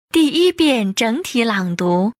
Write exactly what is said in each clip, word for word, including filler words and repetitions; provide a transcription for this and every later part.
第一遍整体朗读。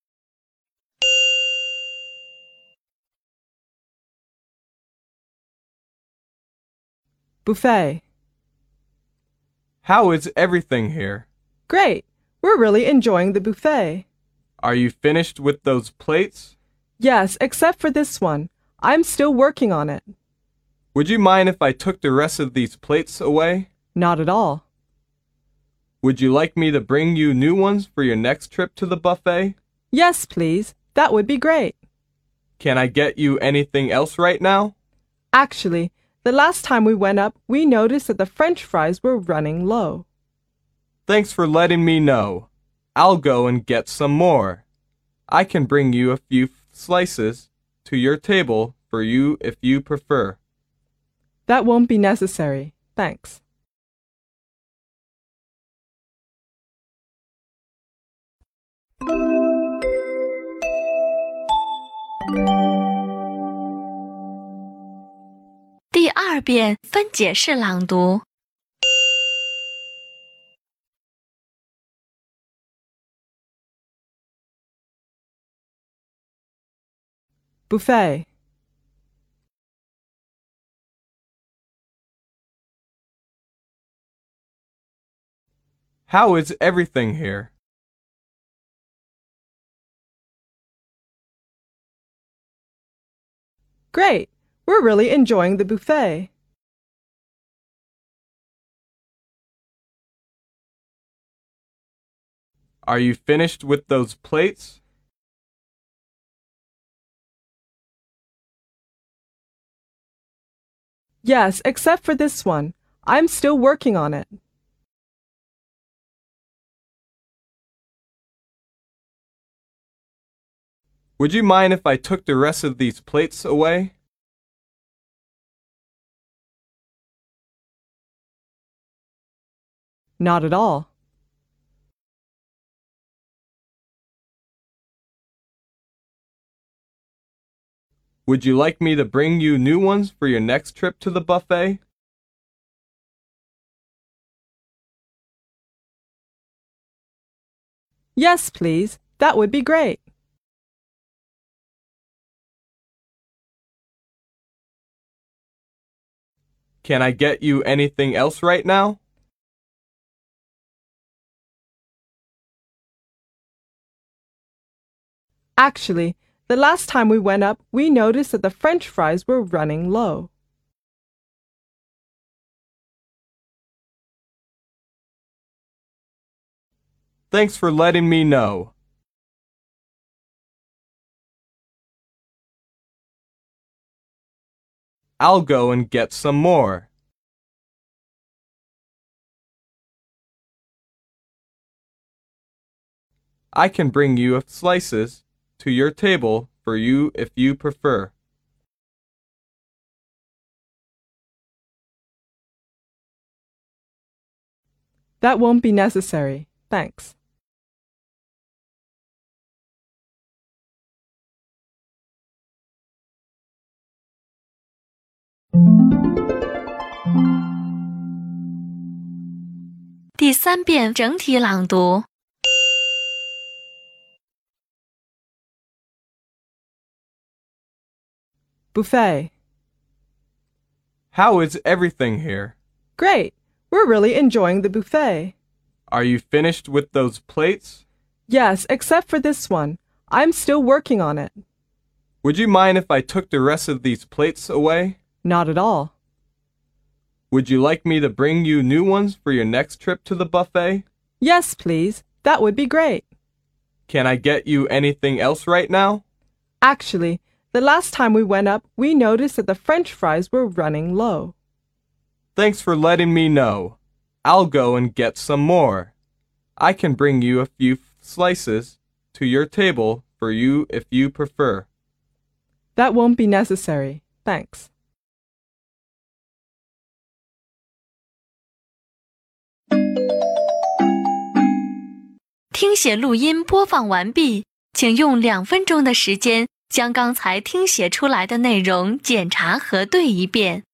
Buffet. How is everything here? Great. We're really enjoying the buffet. Are you finished with those plates? Yes, except for this one. I'm still working on it. Would you mind if I took the rest of these plates away? Not at all. Would you like me to bring you new ones for your next trip to the buffet? Yes, please. That would be great. Can I get you anything else right now? Actually, the last time we went up, we noticed that the French fries were running low. Thanks for letting me know. I'll go and get some more. I can bring you a few slices to your table for you if you prefer. That won't be necessary. Thanks. 第二遍分解式朗读。 Buffet. How is everything here? Great. We're really enjoying the buffet. Are you finished with those plates? Yes, except for this one. I'm still working on it. Would you mind if I took the rest of these plates away? Not at all. Would you like me to bring you new ones for your next trip to the buffet? Yes, please. That would be great. Can I get you anything else right now? Actually, the last time we went up, we noticed that the French fries were running low. Thanks for letting me know. I'll go and get some more. I can bring you slices to your table for you if you prefer. That won't be necessary. Thanks. 第三遍整体朗读。 Buffet. How is everything here? Great. We're really enjoying the buffet. Are you finished with those plates? Yes, except for this one. I'm still working on it. Would you mind if I took the rest of these plates away? Not at all. Would you like me to bring you new ones for your next trip to the buffet? Yes, please. That would be great. Can I get you anything else right now? Actually, the last time we went up, we noticed that the French fries were running low. Thanks for letting me know. I'll go and get some more. I can bring you a few slices to your table for you if you prefer. That won't be necessary. Thanks. 听写录音播放完毕，请用两分钟的时间将刚才听写出来的内容检查核对一遍。